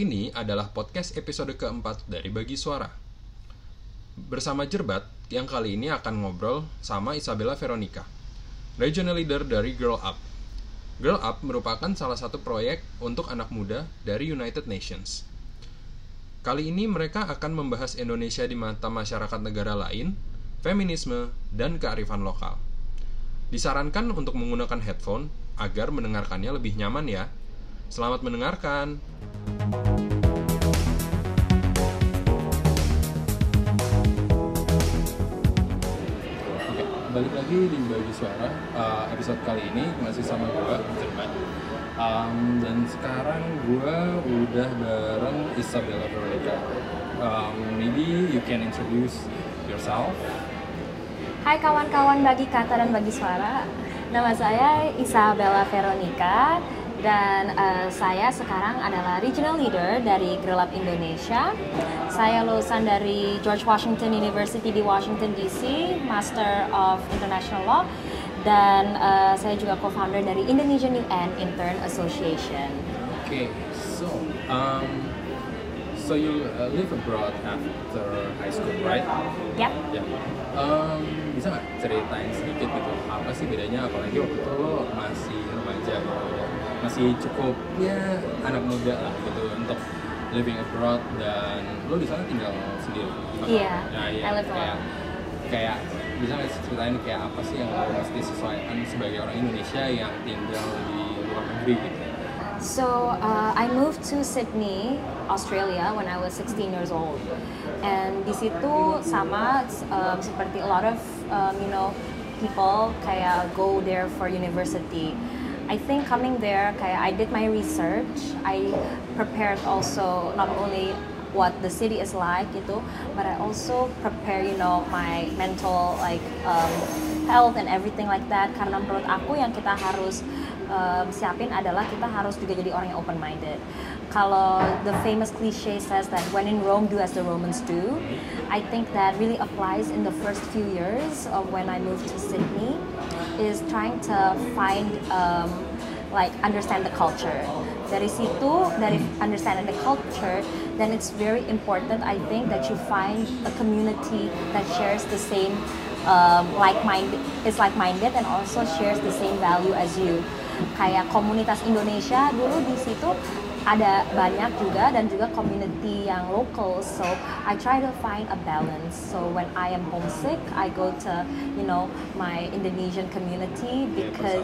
Ini adalah podcast episode keempat dari Bagi Suara. Bersama Jerbat, yang kali ini akan ngobrol sama Isabella Veronica, Regional Leader dari Girl Up. Girl Up merupakan salah satu proyek untuk anak muda dari United Nations. Kali ini mereka akan membahas Indonesia di mata masyarakat negara lain, feminisme, dan kearifan lokal. Disarankan untuk menggunakan headphone agar mendengarkannya lebih nyaman ya. Selamat mendengarkan. Oke, balik lagi di Bagi Suara. Episode kali ini masih sama gue, Jerman. Dan sekarang gue udah bareng Isabella Veronica. Maybe you can introduce yourself. Hai kawan-kawan Bagi Kata dan Bagi Suara. Nama saya Isabella Veronica. Dan saya sekarang adalah Regional Leader dari Girl Up Indonesia. Saya lulusan dari George Washington University di Washington DC, Master of International Law. Dan saya juga co-founder dari Indonesian UN Intern Association. Okay, so you live abroad after high school, right? Yep. Ya. Bisa nggak ceritain sedikit gitu, apa sih bedanya, apalagi waktu itu lo masih remaja gitu, masih cukup ya anak muda lah gitu untuk living abroad, dan lo di sana tinggal sendiri? Iya, Nah, iya, I live alone. Kayak bisa nggak ceritain kayak apa sih yang lo mesti sesuaikan sebagai orang Indonesia yang tinggal di luar negeri gitu? So I moved to Sydney, Australia when I was 16 years old, and di situ sama seperti a lot of people kayak go there for university. I think coming there kayak I did my research, I prepared also not only what the city is like gitu, but I also prepare my mental health and everything like that, karena menurut aku yang kita harus siapin adalah kita harus juga jadi orang yang open minded. Kalau the famous cliche says that when in Rome do as the Romans do, I think that really applies in the first few years of when I moved to Sydney, is trying to find understand the culture. Dari situ, dari understanding the culture, then it's very important, I think, that you find a community that shares the same like-minded and also shares the same value as you. Kayak komunitas Indonesia dulu di situ ada banyak juga, dan juga community yang local. So I try to find a balance. So when I am homesick, I go to my Indonesian community because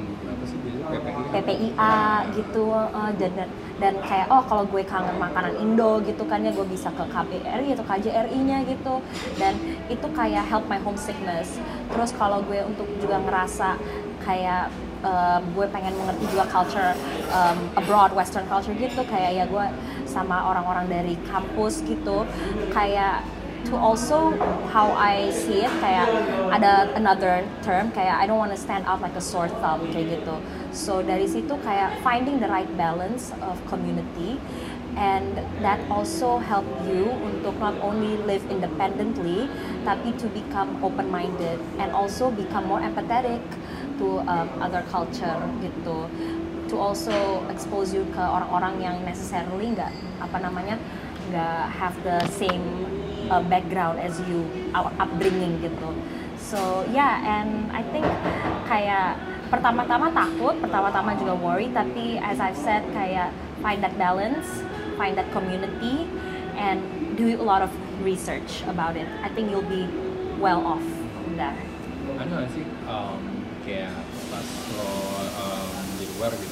PPIA gitu, dan kayak kalau gue kangen makanan Indo gitu kan ya, gue bisa ke KBRI atau KJRI-nya gitu, dan itu kayak help my homesickness. Terus kalau gue untuk juga ngerasa kayak gue pengen mengerti juga culture abroad, western culture gitu, kayak ya gue sama orang-orang dari kampus gitu, kayak to also how I see it, kayak ada another term kayak I don't want to stand out like a sore thumb kayak gitu. So dari situ kayak finding the right balance of community, and that also help you untuk not only live independently tapi to become open-minded and also become more empathetic to other culture gitu, to also expose you ke orang-orang yang necessarily nggak have the same background as you, our upbringing gitu. So yeah, and I think kayak pertama-tama takut, pertama-tama juga worry, tapi as I've said kayak find that balance, find that community, and do a lot of research about it. I think you'll be well off from there. Ada nggak sih kayak pas lo di luar gitu,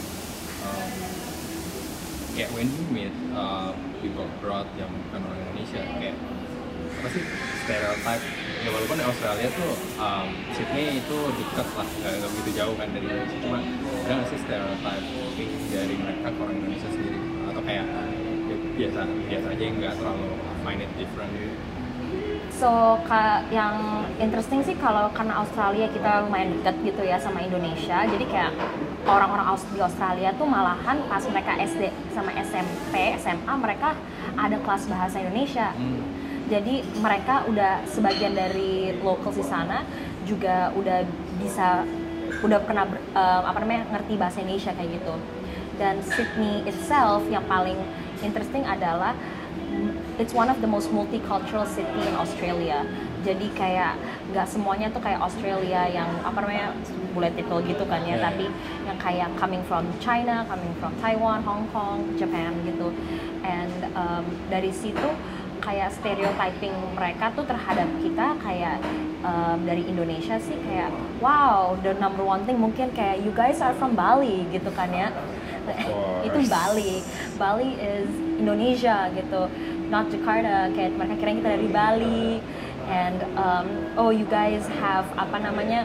kayak when you meet people abroad yang bukan orang Indonesia, kayak apa sih stereotype ya, walaupun di Australia tuh Sydney itu dekat lah, nggak begitu jauh kan dari Indonesia, cuma ada nggak sih stereotype dari mereka ke orang Indonesia sendiri, atau kayak biasa aja nggak terlalu find it different gitu? So yang interesting sih kalau karena Australia kita lumayan dekat gitu ya sama Indonesia, jadi kayak orang-orang di Australia tuh malahan pas mereka SD sama SMP, SMA mereka ada kelas bahasa Indonesia. Jadi mereka udah sebagian dari locals di sana juga udah pernah ngerti bahasa Indonesia kayak gitu. Dan Sydney itself yang paling interesting adalah it's one of the most multicultural city in Australia. Jadi kayak nggak semuanya tuh kayak Australia yang apa namanya political gitu kan ya, tapi yang kayak coming from China, coming from Taiwan, Hong Kong, Japan gitu. And dari situ kayak stereotyping mereka tuh terhadap kita kayak dari Indonesia sih kayak wow, the number one thing mungkin kayak you guys are from Bali gitu kan ya. Itu Bali is Indonesia gitu, not Jakarta. Kayak mereka kira kita dari Bali, and oh you guys have apa namanya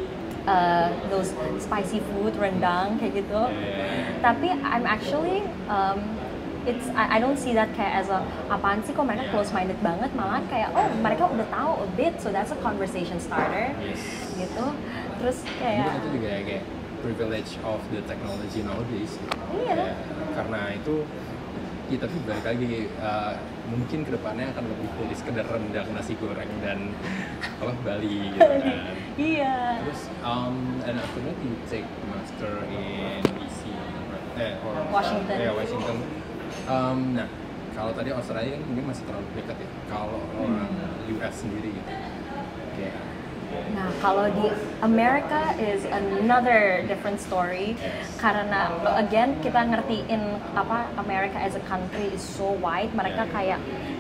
those spicy food, rendang kayak gitu. Tapi I'm actually I don't see that kayak as a apaan sih kok mereka close minded banget, malah kayak oh mereka udah tahu a bit, so that's a conversation starter gitu. Terus kayak itu juga kayak privilege of the technology nowadays. Iya. Karena itu ya, tapi balik lagi mungkin kedepannya akan lebih dari sekedar rendang nasi goreng dan apa Bali gitu kan. Iya. Terus and after that you take master in DC or Washington. Washington. Nah kalau tadi Australia ini masih terlalu dekat ya. Kalau orang US sendiri gitu. Kayak Nah, kalau di America is another different story karena again kita ngertiin apa America as a country is so wide. Mereka kayak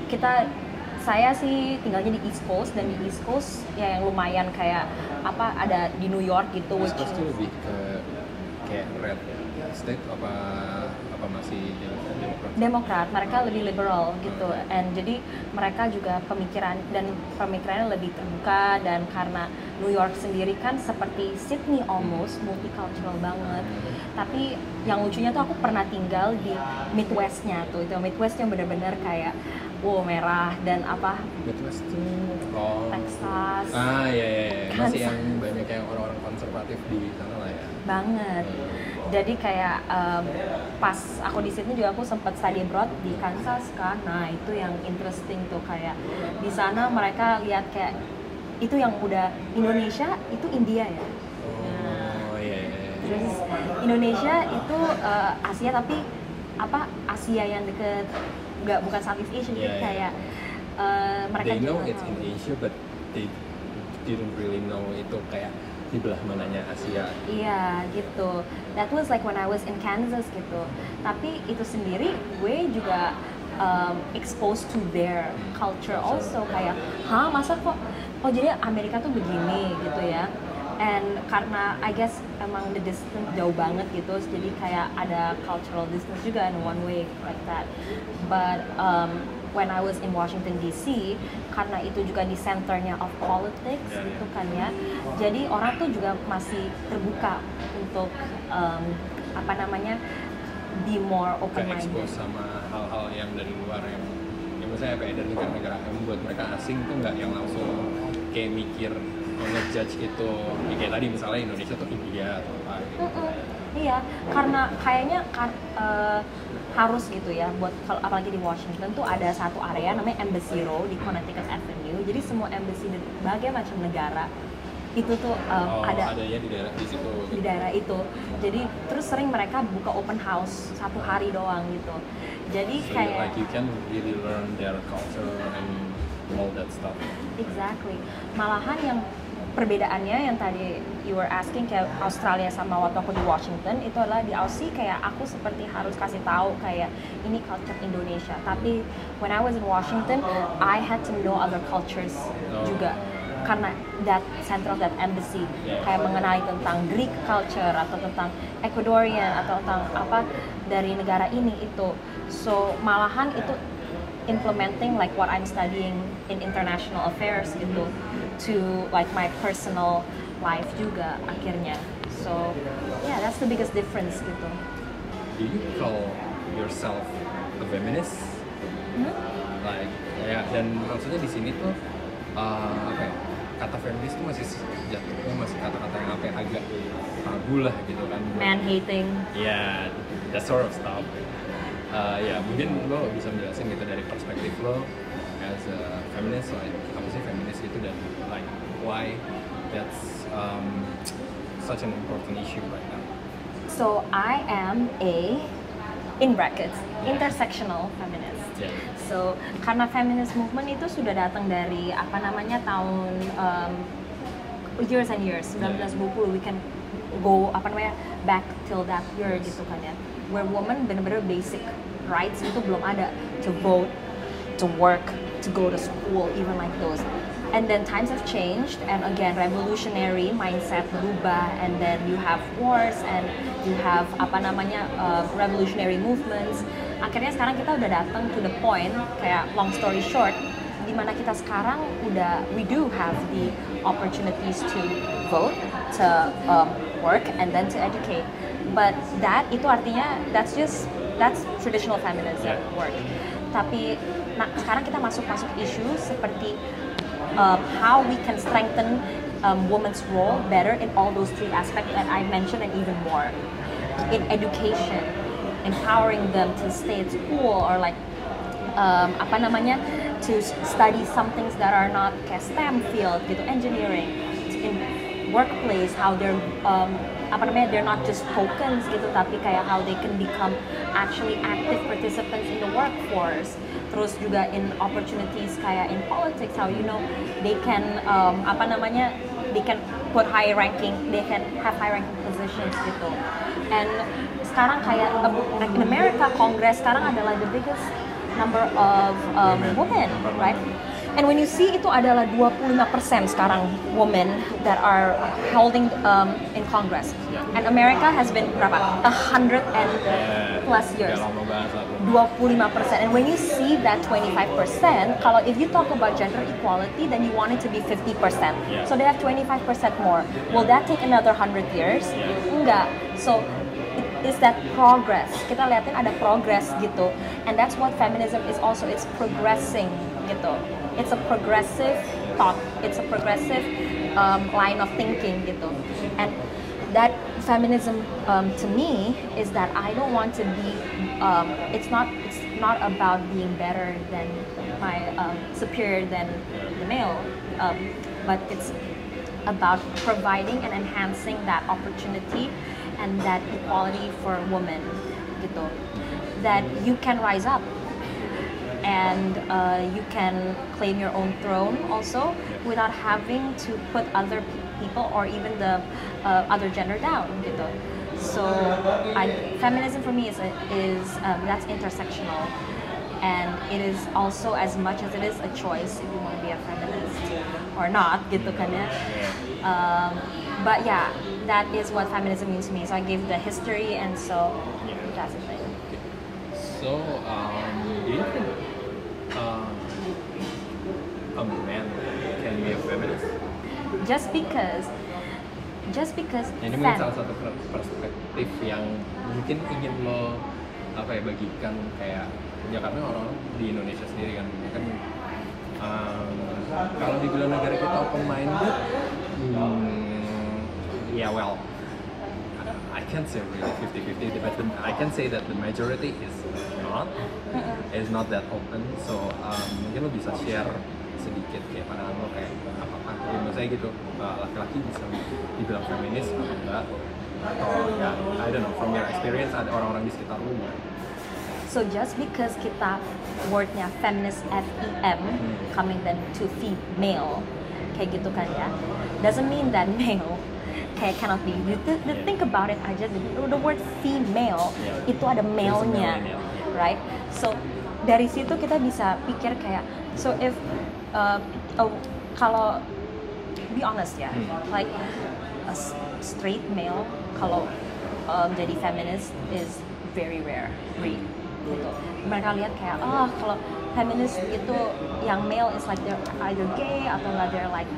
saya sih tinggalnya di East Coast, dan di East Coast ya yang lumayan kayak apa ada di New York gitu. East Coast itu lebih ke kayak red state apa masih Demokrat, mereka lebih liberal gitu, and jadi mereka juga pemikirannya lebih terbuka, dan karena New York sendiri kan seperti Sydney almost multicultural banget. Tapi yang lucunya tuh aku pernah tinggal di Midwestnya tuh, itu Midwest yang benar-benar kayak wow merah dan apa Midwest tuh Texas. Iya. Masih yang banyak yang orang-orang konservatif di sana lah ya. Banget. Jadi kayak pas aku di Sydney juga aku sempat study abroad di Kansas kan. Nah, itu yang interesting tuh kayak di sana mereka lihat kayak itu yang udah Indonesia itu India ya. Terus Indonesia itu Asia, tapi apa Asia yang deket bukan Southeast Asia gitu kayak mereka they know juga it's in Asia but they didn't really know itu kayak di belah mananya Asia. Iya gitu. That was like when I was in Kansas gitu. Tapi itu sendiri gue juga exposed to their culture also kayak, masa kok jadi Amerika tuh begini gitu ya. And karena I guess emang the distance jauh banget gitu, jadi kayak ada cultural distance juga in one way like that. But when I was in Washington DC, karena itu juga di centernya of politics gitu kan ya, jadi orang tuh juga masih terbuka untuk apa namanya be more open minded. Expose sama hal-hal yang dari luar yang misalnya kayak dari negara-negara yang membuat mereka asing tuh nggak yang langsung kayak mikir ngejudge itu kayak tadi misalnya Indonesia tuh India atau apa gitu. Iya, karena kayaknya harus gitu ya buat kalau apalagi di Washington tuh ada satu area namanya Embassy Row di Connecticut Avenue. Jadi semua embassy di berbagai macam negara itu tuh ada adanya di situ. Di daerah itu. Jadi terus sering mereka buka open house 1 hari doang gitu. Jadi so kayak like you can really learn their culture and all that stuff. Exactly. Malahan yang perbedaannya yang tadi you were asking kayak Australia sama waktu aku di Washington, itu adalah di Aussie kayak aku seperti harus kasih tahu kayak ini culture Indonesia, tapi when I was in Washington I had to know other cultures juga karena that center of that embassy kayak mengenali tentang Greek culture atau tentang Ecuadorian atau tentang apa dari negara ini itu, so malahan itu implementing like what I'm studying in international affairs gitu to like my personal life juga akhirnya. So yeah, that's the biggest difference gitu. Do you call yourself a feminist? Like ya, dan maksudnya di sini tuh apa ya, kata feminis tuh masih jatuhnya masih kata-kata yang apa yang agak tabu lah gitu kan. Man hating. Yeah, that sort of stuff. Ya mungkin lo bisa menjelaskan gitu dari perspektif lo as a feminist, like apa sih feminis itu dan like why that's such an important issue right now. So I am a in brackets intersectional feminist. Yeah. So karena feminist movement itu sudah datang dari apa namanya tahun years and years 1920, we can go apa namanya back till that year gitu kan ya, where woman benar-benar basic rights itu belum ada, to vote, to work, to go to school, even like those. And then times have changed, and again revolutionary mindset berubah, and then you have wars and you have apa namanya revolutionary movements. Akhirnya sekarang kita udah datang to the point, kayak long story short, di mana kita sekarang we do have the opportunities to vote, to work, and then to educate. But itu artinya that's traditional feminism work. Tapi sekarang kita masuk isu seperti how we can strengthen women's role better in all those three aspects that I mentioned and even more. In education, empowering them to stay at school or like to study some things that are not kayak STEM field gitu, engineering, in workplace, how they're they're not just tokens gitu, tapi kayak how they can become actually active participants in the workforce. Terus juga in opportunities kayak in politics, how they can they can put high ranking, they can have high ranking positions gitu. And sekarang kayak in America, Congress sekarang adalah the biggest number of women, right? And when you see itu adalah 25% sekarang women that are holding in Congress. And America has been berapa? 100 and plus years. 25%. And when you see that 25%, kalau if you talk about gender equality, then you want it to be 50%. So they have 25% more. Will that take another 100 years? Enggak. So is that progress? Kita liatin ada progress gitu. And that's what feminism is also. It's progressing gitu. It's a progressive thought. It's a progressive line of thinking gitu. And that feminism to me is that I don't want to be. It's not about being better than my superior than the male, but it's about providing and enhancing that opportunity and that equality for women gitu. That you can rise up. And you can claim your own throne also without having to put other people or even the other gender down gitu. So feminism for me is that's intersectional, and it is also as much as it is a choice if you want to be a feminist or not gitu kan ya. But yeah, that is what feminism means to me. So I gave the history, and so that's the thing. So, do you think a man can be a feminist? Just because Ini mungkin salah satu perspektif yang mungkin ingin lo bagikan kayak ya, karena orang di Indonesia sendiri kan kalau dibilang negara kita open minded, well, I can't say really 50-50, but I can say that the majority is not that open. So mungkin lo bisa share sedikit kayak pandangan lo kayak apakah menurut saya gitu laki-laki bisa dibilang feminis atau enggak, atau ya I don't know, from your experience ada orang-orang di sekitar lo enggak? So just because kita wordnya feminist FEM coming then to female kayak gitu kan ya, doesn't mean that male kayak cannot be. Think about it aja, the word female itu ada male-nya, right? So dari situ kita bisa pikir kayak, so if kalau be honest ya, like a straight male kalau jadi feminist is very rare breed gitu. Mereka lihat kayak kalau feminist itu yang male is like they're either gay atau nggak they're like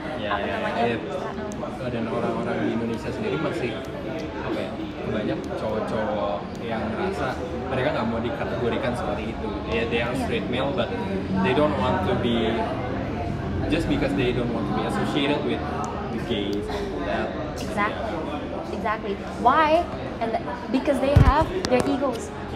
dan orang-orang di Indonesia sendiri masih banyak cowok-cowok yang merasa mereka nggak mau dikategorikan seperti itu. They are straight male but they don't want to be, just because they don't want to be associated with the gays and that. Exactly. Why? And because they have their egos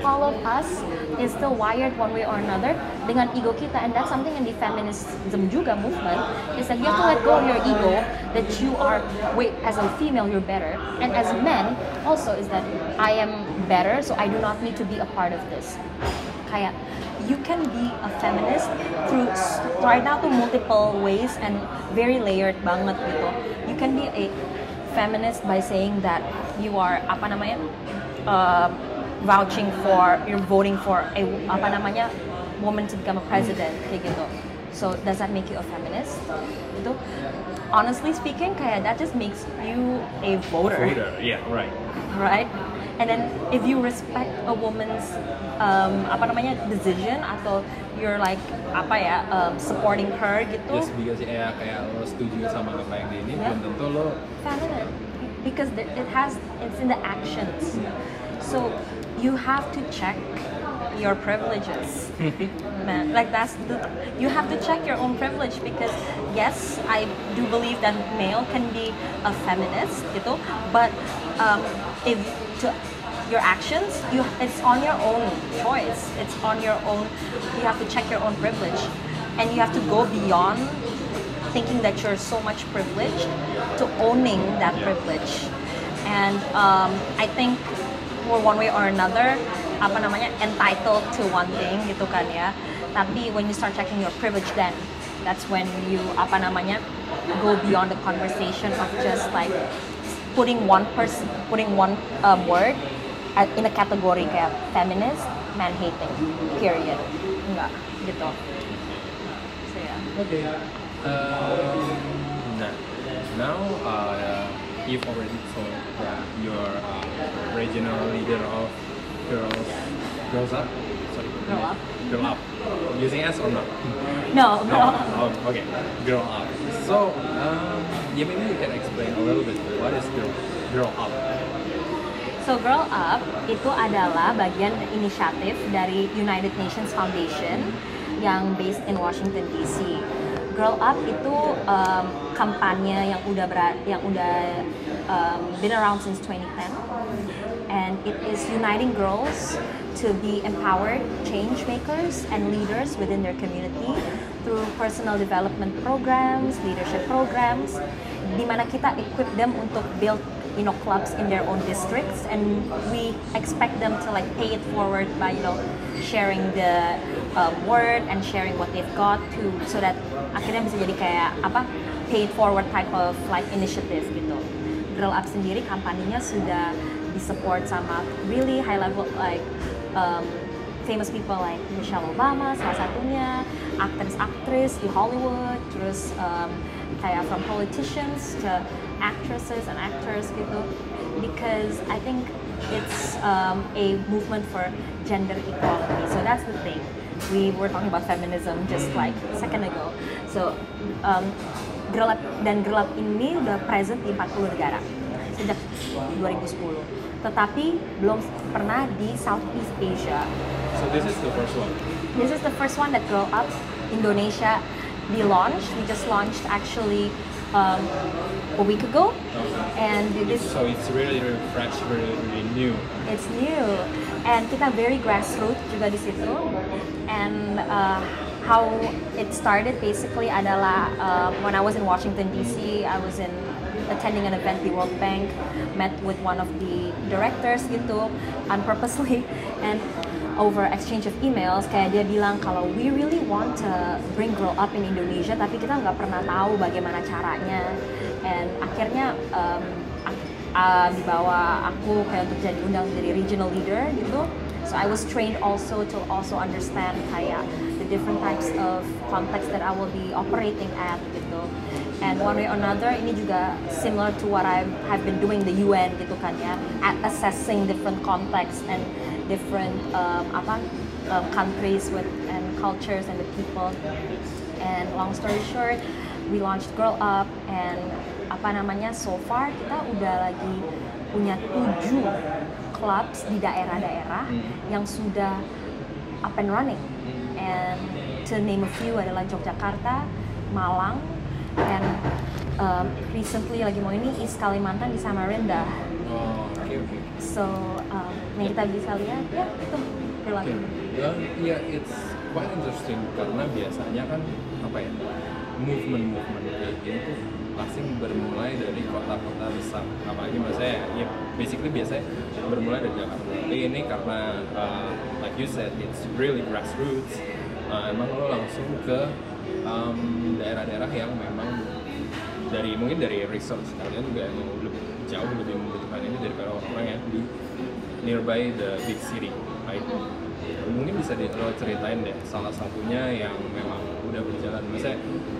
all of us is still wired one way or another dengan ego kita, and that's something in the feminism juga movement is that you have to let go of your ego, that you are, wait, as a female you're better, and as a man also is that I am better, so I do not need to be a part of this. Kayak you can be a feminist through right now to multiple ways and very layered banget gitu. You can be a feminist by saying that you are apa namanya vouching for, you're voting for a apa namanya woman to become a president kayak gitu. So does that make you a feminist? Itu honestly speaking kayak that just makes you a voter. Yeah, right. Right? And then if you respect a woman's apa namanya decision atau you're like apa ya supporting her gitu. Just because ya kayak lo setuju sama apa yang dia ini belum tentu lo feminine because it's in the actions. So you have to check your privileges. Man, like you have to check your own privilege because yes, I do believe that male can be a feminist gitu, but if to your actions, it's on your own choice. It's on your own. You have to check your own privilege, and you have to go beyond thinking that you're so much privileged to owning that privilege. And I think for one way or another, apa namanya entitled to one thing gitu kan ya. Tapi when you start checking your privilege, then that's when you apa namanya go beyond the conversation of just like putting one word in a category kayak feminist, man hating, period. Enggak, gitu. So yeah. Okay. Now you've already told that you're regional leader of Girls Up. Sorry. Girl Up. Using S or not? No, Girl Up. Oh, okay. Girl Up. So, yeah, maybe you can explain a little bit what is Girl Up. So Girl Up itu adalah bagian inisiatif dari United Nations Foundation yang based in Washington DC. Girl Up itu kampanye yang udah been around since 2010, and it is uniting girls to be empowered change makers and leaders within their community through personal development programs, leadership programs, di mana kita equip them untuk build clubs in their own districts, and we expect them to like pay it forward by sharing the word and sharing what they've got to, so that akhirnya bisa jadi kayak apa pay it forward type of like initiative gitu. Girl Up sendiri kampanyenya sudah disupport sama really high level like famous people like Michelle Obama salah satunya, aktris-aktris di Hollywood, terus kayak from politicians to actresses and actors gitu, because I think it's a movement for gender equality. So that's the thing. We were talking about feminism just like a second ago. So Girl Up ini udah present di 40 negara sejak 2010. Tetapi belum pernah di Southeast Asia. So this is the first one. This is the first one that Girl Up Indonesia launched. We just launched actually a week ago, and so it's really fresh, really new. It's new, and kita very grassroots juga di situ. And how it started basically adalah when I was in Washington DC, I was attending an event di World Bank, met with one of the directors gitu, unpurposely, and over exchange of emails, kayak dia bilang kalau we really want to bring Girl Up in Indonesia, tapi kita nggak pernah tahu bagaimana caranya. And akhirnya dibawa aku kayak untuk jadi undang jadi regional leader gitu. So I was trained also to understand kayak the different types of context that I will be operating at gitu. And one way or another, ini juga similar to what I've been doing the UN gitu kan ya, at assessing different contexts and different countries and cultures and the people. And long story short, we launched Girl Up, and so far kita udah lagi punya 7 clubs di daerah-daerah yang sudah up and running. And to name a few adalah Yogyakarta, Malang, and recently lagi mau ini East Kalimantan di Samarinda. Oh, okay. So yang kita bisa lihat ya itu perilaku. Iya, it's quite interesting karena biasanya kan apa ya, movement kayak gini tuh pasti bermulai dari kota-kota besar, apalagi maksudnya ya basically biasanya bermulai dari Jakarta. Tapi ini karena like you said it's really grassroots, emang lo langsung ke daerah-daerah yang memang mungkin dari research kalian juga emang jauh lebih membutuhkan ini daripada orang-orang yang di nearby the big city, right? Mungkin bisa lo ceritain deh salah satunya yang memang udah berjalan. Misalnya,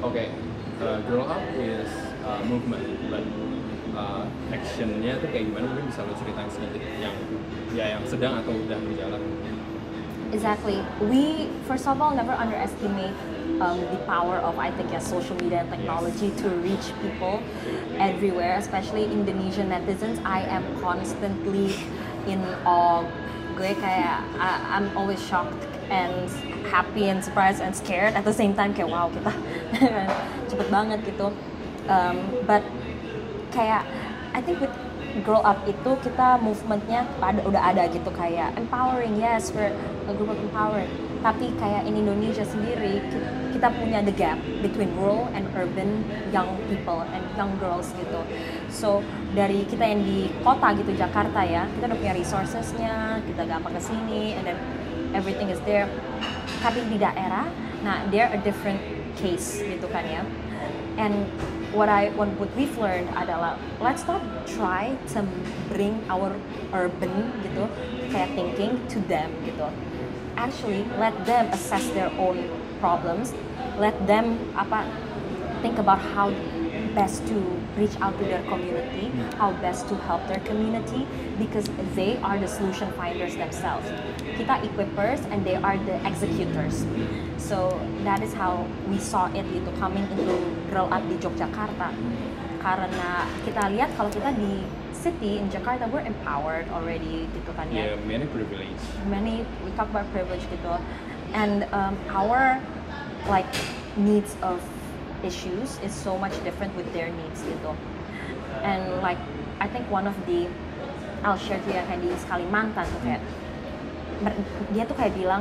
Girl Up is movement, but actionnya tuh kayak gimana? Mungkin bisa lo ceritain sedikit yang sedang atau udah berjalan. Exactly. We first of all never underestimate the power of social media and technology to reach people everywhere, especially Indonesian netizens. I am constantly in awe. Gue kayak I'm always shocked and happy and surprised and scared at the same time, kayak wow kita cepet banget gitu. But kayak I think with Grow Up itu kita movementnya udah ada gitu, kayak empowering, yes, we're a group of empowered. Tapi kayak in Indonesia sendiri kita punya the gap between rural and urban young people and young girls gitu. So dari kita yang di kota gitu Jakarta ya, kita udah punya resourcesnya, kita gampang kesini, and then everything is there. Tapi di daerah, nah they're a different case gitu kan ya. And what we've learned adalah let's not try to bring our urban gitu kayak thinking to them gitu. Actually let them assess their own problems, let them think about how best to reach out to their community, how best to help their community, because they are the solution finders themselves. Kita equippers and they are the executors. So that is how we saw it gitu, coming into Grow Up di Yogyakarta. Karena kita lihat kalau kita di city in Jakarta, we're empowered already gitu kan ya. Yeah, many privilege. We talk about privilege gitu. And our like needs of issues is so much different with their needs gitu. And like I think one of the I'll share to you kayak di Kalimantan tuh kayak dia tuh kayak bilang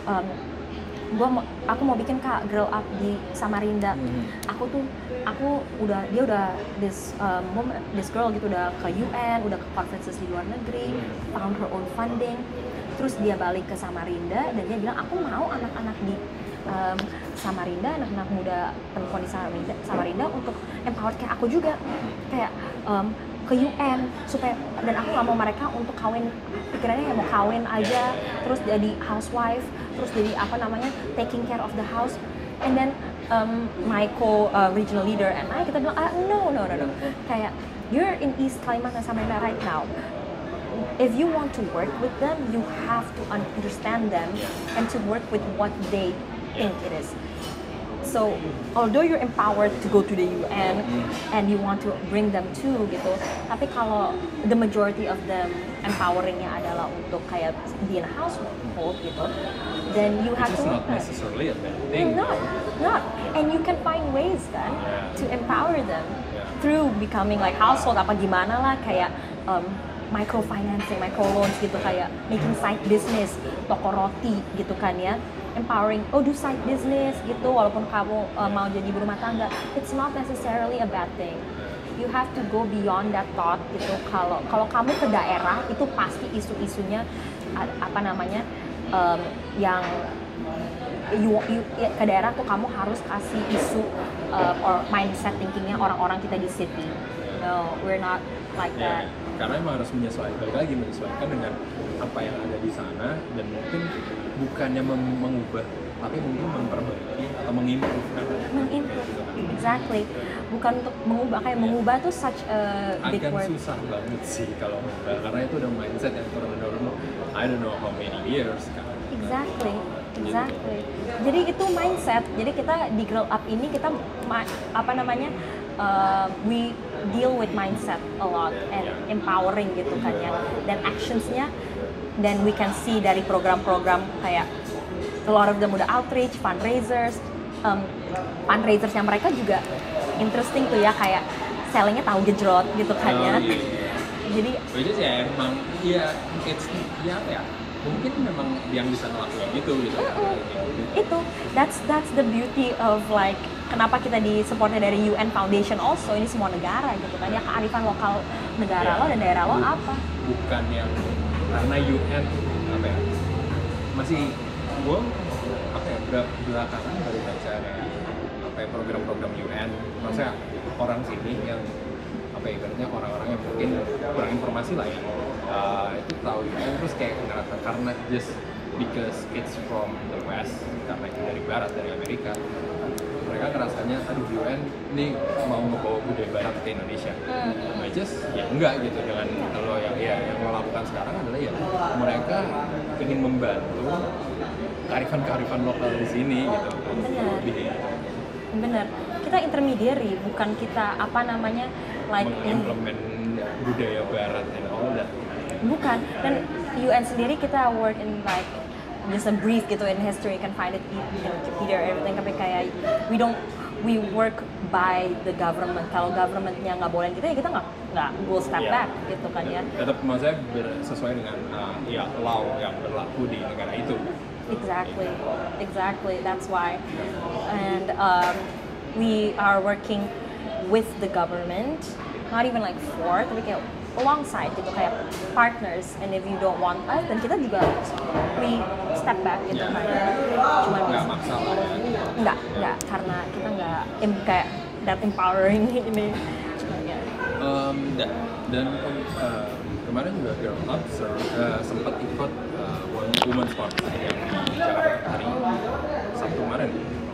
aku mau bikin Kak Grow Up di Samarinda. Dia udah this girl gitu udah ke UN, udah ke conferences di luar negeri, found her own funding. Terus dia balik ke Samarinda dan dia bilang aku mau anak-anak di Samarinda, anak-anak muda perempuan di Samarinda untuk empowered kayak aku juga, kayak ke UN supaya, dan aku nggak mau mereka untuk kawin, pikirannya mau kawin aja terus jadi housewife, terus jadi taking care of the house. And then my regional leader and kita bilang no, kayak you're in East Kalimantan Samarinda right now. If you want to work with them, you have to understand them and to work with what they think it is. So, although you're empowered to go to the UN and you want to bring them too gitu, tapi kalau the majority of them empoweringnya adalah untuk kayak be in a household gitu, then you have to. It's not necessarily a bad thing. Not. And you can find ways kan to empower them through becoming like household apa gimana lah, kayak microfinancing, microloans gitu, kayak making side business, toko roti gitu kan ya. Empowering, do side business gitu, walaupun kamu mau jadi ibu rumah tangga, it's not necessarily a bad thing. You have to go beyond that thought gitu. Kalau kamu ke daerah itu pasti isu-isunya yang ke daerah tuh kamu harus kasih isu or mindset thinkingnya orang-orang kita di city. No, we're not like that. Karena emang harus menyesuaikan dengan apa yang ada di sana, dan mungkin bukannya mengubah, tapi mungkin memperbaiki atau mengimprove. Exactly. Bukan untuk mengubah, kayak mengubah tuh such a big word. Akan susah banget sih kalau mengubah, karena itu udah mindset yang turun-menurun I don't know how many years kan. Exactly. Jadi itu mindset. Jadi kita di Grow Up ini kita we deal with mindset a lot and empowering gitu kan ya. Dan actionsnya, then we can see dari program-program kayak a lot of them udah outreach, fundraisers yang mereka juga interesting tuh ya, kayak sellingnya tahu gejrot gitu kan ya. Jadi which is ya emang ya it's ya apa ya, mungkin memang yang bisa ngelakuin gitu. itu that's the beauty of like kenapa kita di supportnya dari UN Foundation also, ini semua negara gitu kan ya, kearifan lokal negara lo dan daerah lo apa. Bukan yang karena UN apa ya, masih gue apa ya, belakangan baru baca kayak apa ya, program-program UN, maksudnya orang sini yang apa ya, ibaratnya orang-orang yang mungkin kurang informasi lah ya, itu tahu UN terus kayak ngerasa karena just because it's from the West, karena itu dari Barat, dari Amerika, mereka ngerasanya aduh UN nih mau ngebawa budaya Barat ke Indonesia. Just ya enggak gitu, dengan kalau yang lo lakukan sekarang adalah ya mereka ingin membantu kearifan lokal di sini gitu. Bener. Kita intermediary, bukan kita apa namanya like mengimplement budaya Barat and all that. Bukan. Dan UN sendiri kita work in like just a brief gitu in history, you can find it in Wikipedia or everything, tapi kayak we work by the government. Kalau governmentnya nggak boleh kita, ya kita nggak will step back gitu kan ya. Tetap maksudnya sesuai dengan ya law yang berlaku di negara itu. Exactly. That's why, and we are working with the government, not even like for, tapi kayak alongside gitu, kayak partners. And if you don't want us, dan kita juga we step back gitu kan. Cuma nggak maksa lah ya. Nggak, karena kita nggak kayak that empowering ini. Dan kemarin juga Girl Up sempat ikut Women's March yang di Jakarta hari Sabtu kemarin.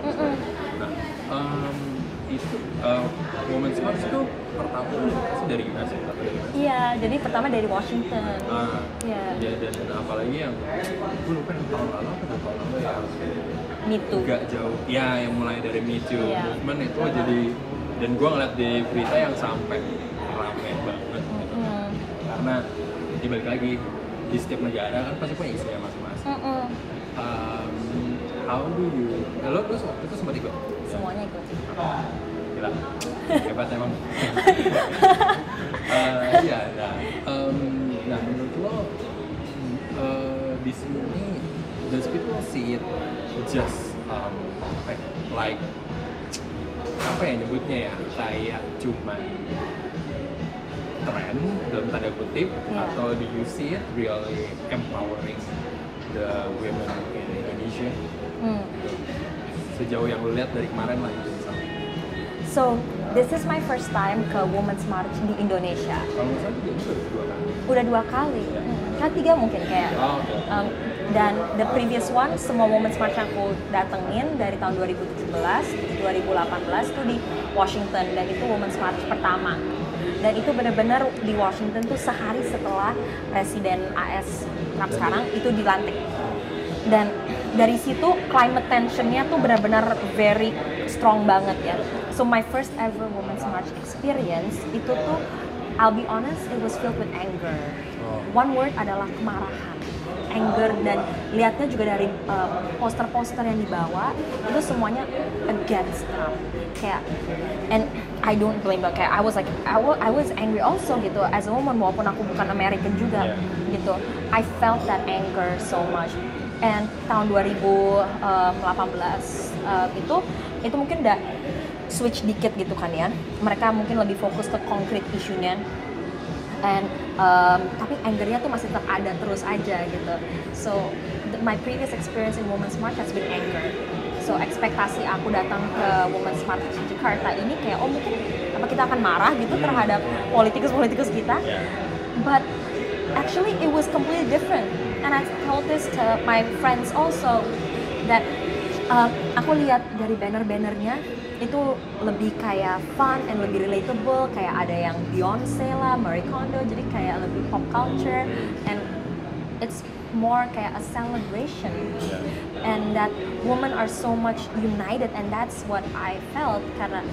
Nah, itu Women's March itu pertama pasti dari US atau dari mana? Iya, jadi pertama dari Washington. Ya, dan apalagi yang gue lupa yang tahun lalu atau 2 tahun lalu ya. Me Too. Gak jauh. Ya, yang mulai dari Me Too movement itu jadi, dan gue ngeliat di berita yang sampai rame banget. Karena dibalik lagi di setiap negara kan pasti punya istilah masing-masing. How do you? Lo terus waktu itu sempat ikut? Semuanya ikut. Gila, hebat emang. Iya, nah menurut lo di sini does people see it just like apa ya nyebutnya ya, kayak cuman tren dalam tanda kutip, atau do you see it really empowering the women in Indonesia? Sejauh yang lo lihat dari kemarin lah itu misalnya. So this is my first time ke Women's March di Indonesia. Kalau nggak salah juga Udah 2 kali. Kan 3 mungkin kayak. Dan the previous one, semua Women's March yang aku datengin dari tahun 2017, 2018 tuh di Washington, dan itu Women's March pertama. Dan itu benar-benar di Washington tuh sehari setelah Presiden AS Trump sekarang itu dilantik. Dan dari situ climate tensionnya tuh benar-benar very strong banget ya. So my first ever Women's March experience itu tuh, I'll be honest, it was filled with anger. One word adalah kemarahan, anger, dan lihatnya juga dari poster-poster yang dibawa itu semuanya against Trump. Kayak, and I don't blame her. Kayak I was angry also gitu as a woman, walaupun aku bukan American juga gitu. I felt that anger so much. And tahun 2018 itu mungkin udah switch dikit gitu kan ya. Mereka mungkin lebih fokus ke concrete isunya. And tapi angernya tuh masih tetap ada terus aja gitu. So my previous experience in Women's March has been anger. So ekspektasi aku datang ke Women's March Jakarta ini kayak mungkin apa kita akan marah gitu terhadap politikus kita. But actually it was completely different. And I told this to my friends also that aku lihat dari banner-bannernya itu lebih kayak fun and lebih relatable, kayak ada yang Beyonce lah, Marie Kondo, jadi kayak lebih pop culture, and it's more kayak a celebration. And that women are so much united, and that's what I felt karena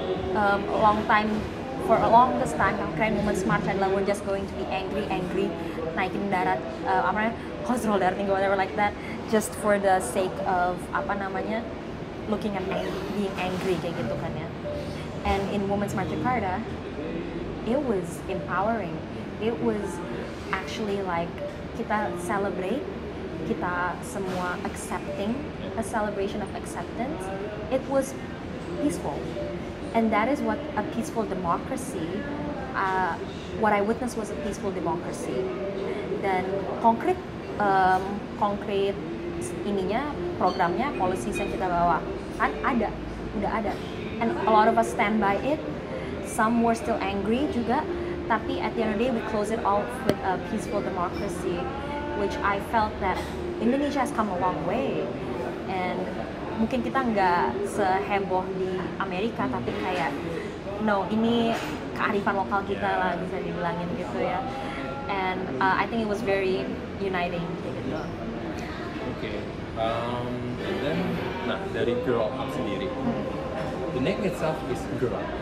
for a longest time keren Women's March adalah we're just going to be angry, naikin darat kontrol darah tinggi, whatever like that, just for the sake of looking at being angry kayak gitu kan ya. And in Women's March Jakarta, it was empowering. it was actually like kita celebrate, kita semua accepting, a celebration of acceptance. It was peaceful, and that is what a peaceful democracy. What I witnessed was a peaceful democracy. Dan konkret ininya, programnya, policies yang kita bawa kan udah ada, and a lot of us stand by it. Some were still angry juga, tapi at the end of the day we close it off with a peaceful democracy, which I felt that Indonesia has come a long way. And mungkin kita nggak seheboh di Amerika, tapi kayak ini kearifan lokal kita lah, bisa dibilangin gitu ya. And I think it was very uniting gitu. Okay. And then, nah dari Girl Up sendiri, the name itself is Girl Up.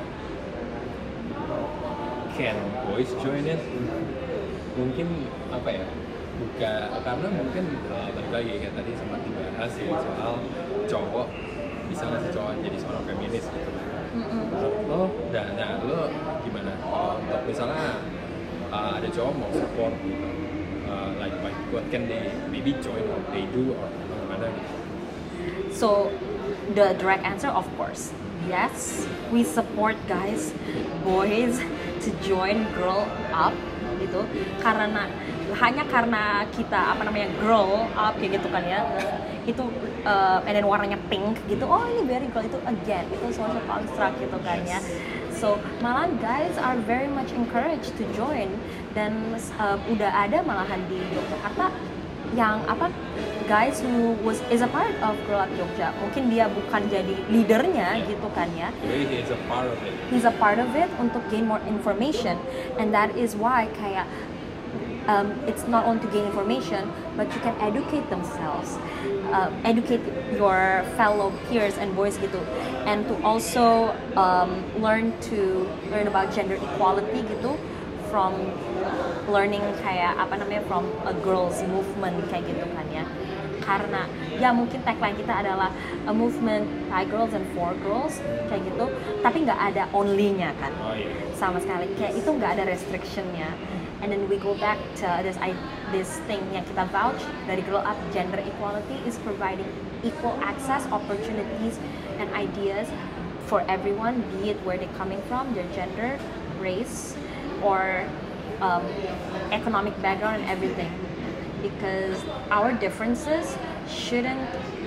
Can boys join it? Mungkin apa ya? Karena mungkin balik lagi kayak tadi sempat dibahas ya soal cowok bisa nggak sih cowok jadi seorang feminis gitu. Lo gimana? Untuk misalnya ada cowok mau support gitu, like what can they maybe join or they do or gimana gitu? So the direct answer, of course, yes, we support boys to join Girl Up gitu, hanya karena kita grow up kayak gitu kan ya, itu and then warnanya pink gitu, oh ini very girl, itu again itu social construct gitu kan ya. So malahan guys are very much encouraged to join, dan udah ada malahan di Yogyakarta yang guys who is a part of Girl Up Jogja. Mungkin dia bukan jadi leadernya gitu kan ya. He is a part of it. He's a part of it untuk gain more information, and that is why kayak it's not only to gain information, but you can educate themselves, educate your fellow peers and boys gitu, and to also learn about gender equality gitu, from learning kayak from a girls movement kayak gitu kan ya. Karena ya mungkin tagline kita adalah a movement by girls and for girls kayak gitu, tapi nggak ada only-nya kan. Sama sekali kayak itu nggak ada restriction-nya. And then we go back to this thing yang kita vouch dari Girl Up, gender equality is providing equal access, opportunities, and ideas for everyone, be it where they're coming from, their gender, race, or economic background and everything. Because our differences shouldn't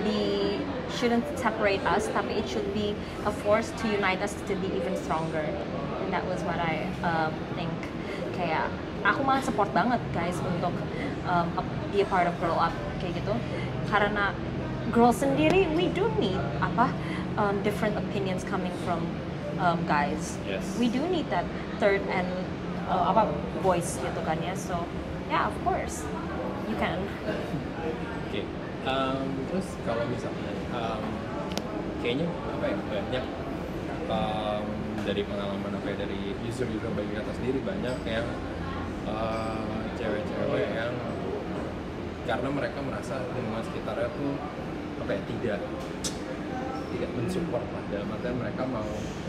separate us, tapi it should be a force to unite us to be even stronger. And that was what I think. Kayak aku malah support banget guys untuk be a part of Girl Up kayak gitu, karena girls sendiri we do need different opinions coming from guys. Yes. We do need that third and voice gitu kan ya. So yeah, of course you can. Okay. Terus kalau misalnya kayaknya banyak dari pengalaman dari user bagi kata sendiri, banyak yang cewek-cewek yang karena mereka merasa lingkungan sekitarnya tuh tidak mensupport lah, dalam artian mereka mau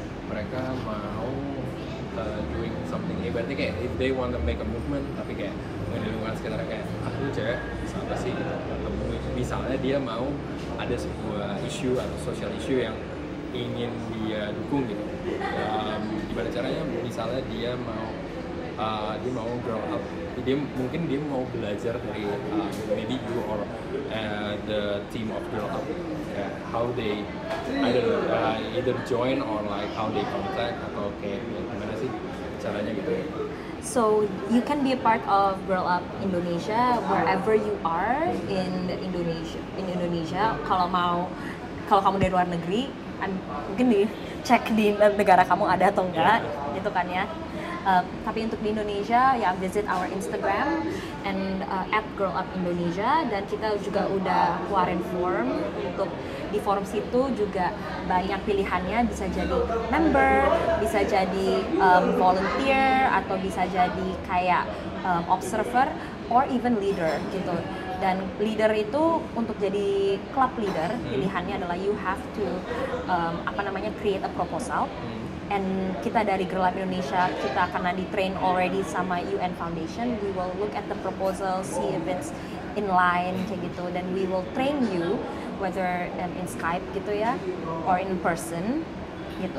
doing something, berarti kayak if they want to make a movement, tapi kayak di lingkungan sekitarnya kayak lu cewek bisa apa sih ketemu, misalnya dia mau ada sebuah isu atau social issue yang ingin dia dukung gitu, gimana caranya, misalnya dia mau grow up, mungkin dia mau belajar dari maybe you or the team of Girl Up, how they either join or like how they contact atau kayak gimana sih caranya gitu. So you can be a part of Girl Up Indonesia wherever you are in Indonesia. Kalau kamu dari luar negeri, mungkin dicek di negara kamu ada atau enggak, gitu kan ya. Tapi untuk di Indonesia ya visit our Instagram and @girlupindonesia, dan kita juga udah keluarin form. Untuk di form situ juga banyak pilihannya, bisa jadi member, bisa jadi volunteer, atau bisa jadi kayak observer or even leader gitu. Dan leader itu untuk jadi club leader, pilihannya adalah you have to create a proposal and kita dari Girl Up Indonesia, kita karena di train already sama UN Foundation, we will look at the proposal, see if it's in line kayak gitu, then we will train you whether in Skype gitu ya or in person gitu,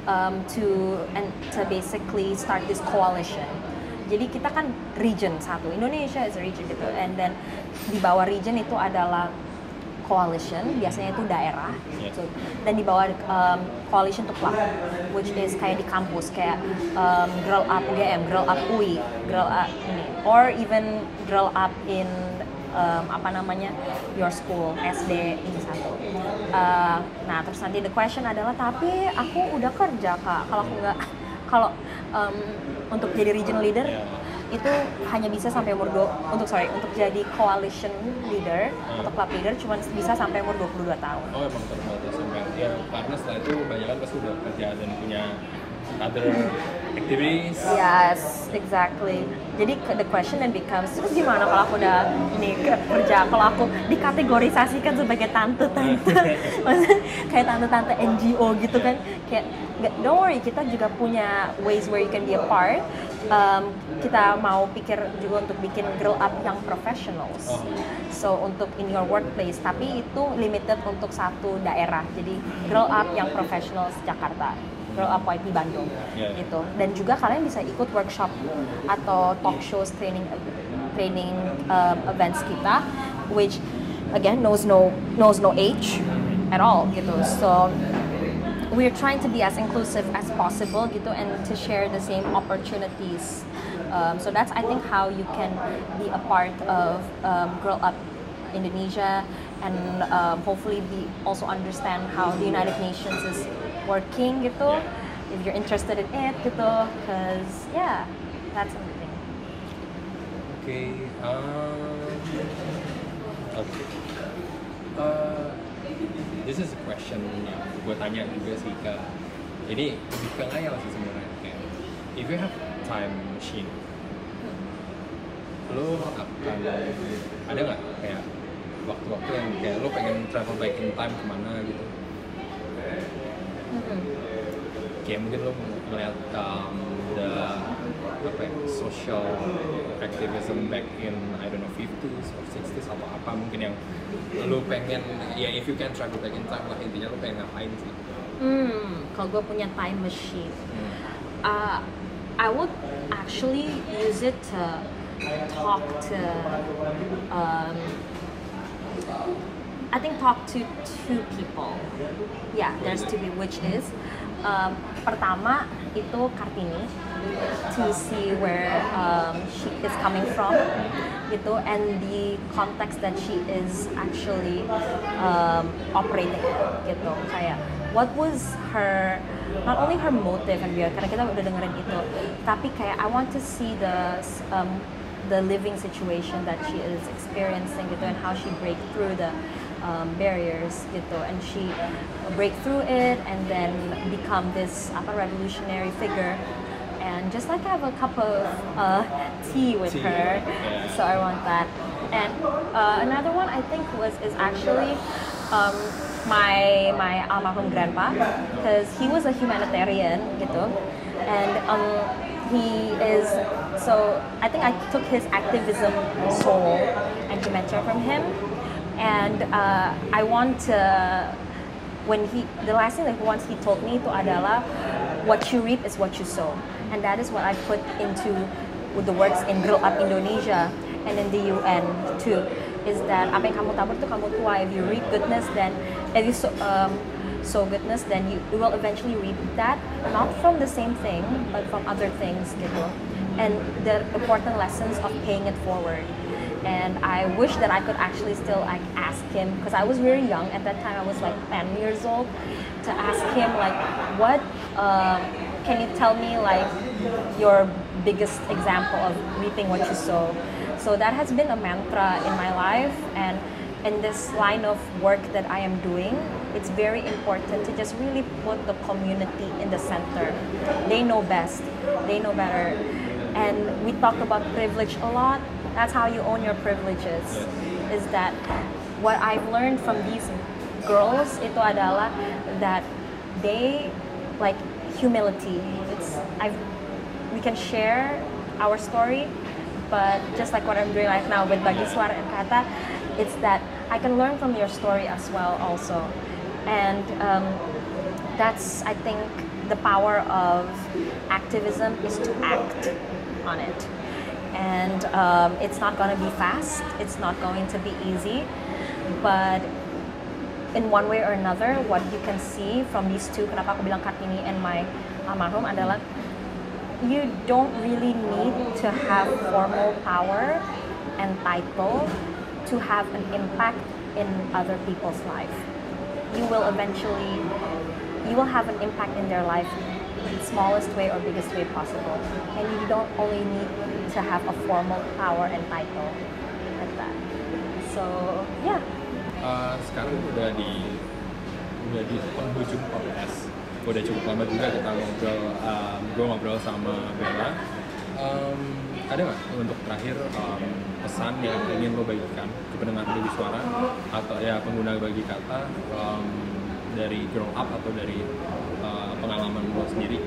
to basically start this coalition. Jadi kita kan region satu, Indonesia is a region gitu, and then di bawah region itu adalah coalition, biasanya itu daerah, so, dan di bawah coalition itu club, which is kayak di kampus, kayak Girl Up UGM, Girl Up UI, Girl Up ini, or even Girl Up in your school, SD ini satu. Nah terus nanti the question adalah, tapi aku udah kerja Kak, kalau aku nggak, kalau untuk jadi regional leader itu hanya bisa sampai untuk jadi coalition leader atau club leader cuma bisa sampai umur 22 tahun. Oh emang terbatas sampai ya, karena setelah itu banyak kan pasti udah kerja dan punya other activities. Yes, exactly. Jadi the question then becomes, terus gimana kalau aku udah kerja, kalau aku dikategorisasikan sebagai tante-tante, maksudnya kayak tante-tante NGO gitu kan, kayak don't worry, kita juga punya ways where you can be a part. Kita mau pikir juga untuk bikin Girl Up yang professionals. So untuk in your workplace, tapi itu limited untuk satu daerah. Jadi Girl Up yang professionals Jakarta, Girl Up YP Bandung, gitu. Dan juga kalian bisa ikut workshop atau talk shows, training events kita, which again knows no age at all, gitu. So we're trying to be as inclusive as possible gitu, and to share the same opportunities. So that's, I think, how you can be a part of Girl Up Indonesia, and hopefully also understand how the United Nations is working gitu, if you're interested in it gitu, because yeah, that's something. Okay. This is a question yang gue tanya juga sih ke, ini lebih ke Ngayal sih sebenarnya, kayak if you have time machine, lo akan ada nggak kayak waktu-waktu yang kayak lo pengen travel back in time kemana gitu? Kayak mungkin lo ngeliat social activism back in, I don't know, 50s or 60s atau apa mungkin yang lo pengen, ya if you can travel back in time lah, intinya lo pengen ngapain sih? Kalau gue punya time machine, I would actually use it to talk to talk to two people. Yeah, there's two people, which is pertama itu Kartini, to see where she is coming from gitu, and the context that she is actually operating gitu, kayak what was her, not only her motive and karena kita udah dengerin itu, tapi kayak I want to see the living situation that she is experiencing gitu, and how she break through the barriers gitu, and she break through it and then become this revolutionary figure, and just like have a cup of tea with her. So I want that. And another one I think is actually my almarhum grandpa, because he was a humanitarian gitu, and he is, so I think I took his activism soul and humanitarian from him. And I want to, the last thing that once he told me itu adalah, what you reap is what you sow, and that is what I put into the works in Girl Up Indonesia and in the UN too, is that apa yang kamu tabur itu kamu tuai. If you reap goodness, then if you sow goodness, then you will eventually reap that, not from the same thing but from other things gitu, and the important lessons of paying it forward. And I wish that I could actually still ask him, because I was very young at that time, I was like 10 years old, to ask him like, what can you tell me like your biggest example of reaping what you sow? So that has been a mantra in my life, and in this line of work that I am doing, it's very important to just really put the community in the center. They know best, they know better. And we talk about privilege a lot. That's how you own your privileges. Is that what I've learned from these girls itu adalah that they, like, humility. We can share our story, but just like what I'm doing right now with Bagi Suara and Kata, it's that I can learn from your story as well also. And that's, I think, the power of activism is to act on it. And it's not going to be fast, it's not going to be easy, but in one way or another, what you can see from these two, kenapa aku bilang Kartini and my almarhum adalah, you don't really need to have formal power and title to have an impact in other people's life. You will have an impact in their life in the smallest way or biggest way possible. And you don't only need to have a formal power and title like that. So, yeah. Sekarang udah di penghujung podcast. Udah cukup lama juga kita ngobrol, gue ngobrol sama Bella. Ada nggak untuk terakhir pesan yang ingin lo bagikan ke pendengar Bagi Suara atau ya pengguna Bagi Kata dari Grow Up atau dari pengalaman lo sendiri?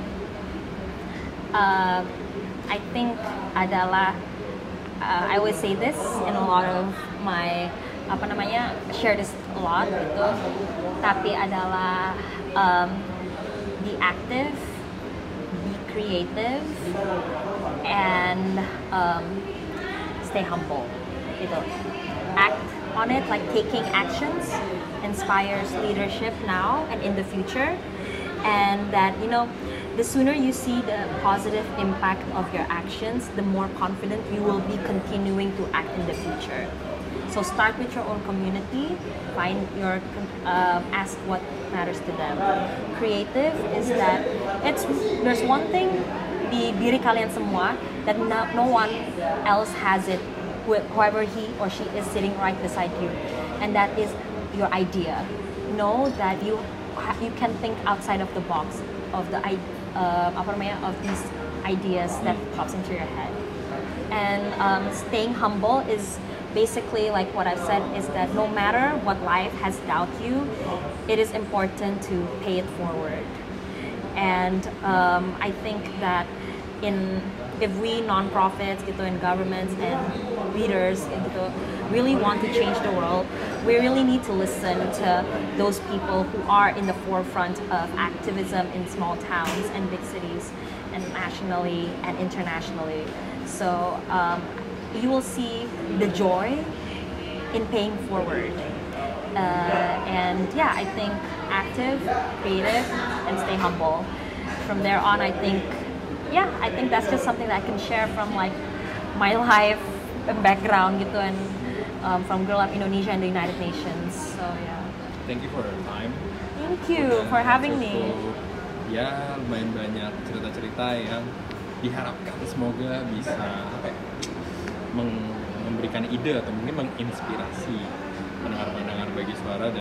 I think adalah I always say this in a lot of my share this a lot gitu, tapi adalah be active, be creative, and stay humble gitu. Act on it, like taking actions inspires leadership now and in the future, and that the sooner you see the positive impact of your actions, the more confident you will be continuing to act in the future. So start with your own community, ask what matters to them. Creative is that there's one thing di diri kalian semua that no one else has it, whoever he or she is sitting right beside you, and that is your idea. Know that you can think outside of the box of of these ideas that pops into your head. And staying humble is basically, like what I've said, is that no matter what life has dealt you, it is important to pay it forward. And I think that if we nonprofits gitu, and governments and leaders gitu, really want to change the world, we really need to listen to those people who are in the forefront of activism in small towns and big cities, and nationally and internationally. So you will see the joy in paying forward. And yeah, I think active, creative, and stay humble. From there on, I think that's just something that I can share from like my life background gitu, and from Girl Up Indonesia and the United Nations. So yeah. Thank you for your time. Thank you for having me. Ya, lumayan banyak cerita-cerita yang diharapkan semoga bisa memberikan ide atau mungkin menginspirasi pendengar-pendengar Bagi Suara.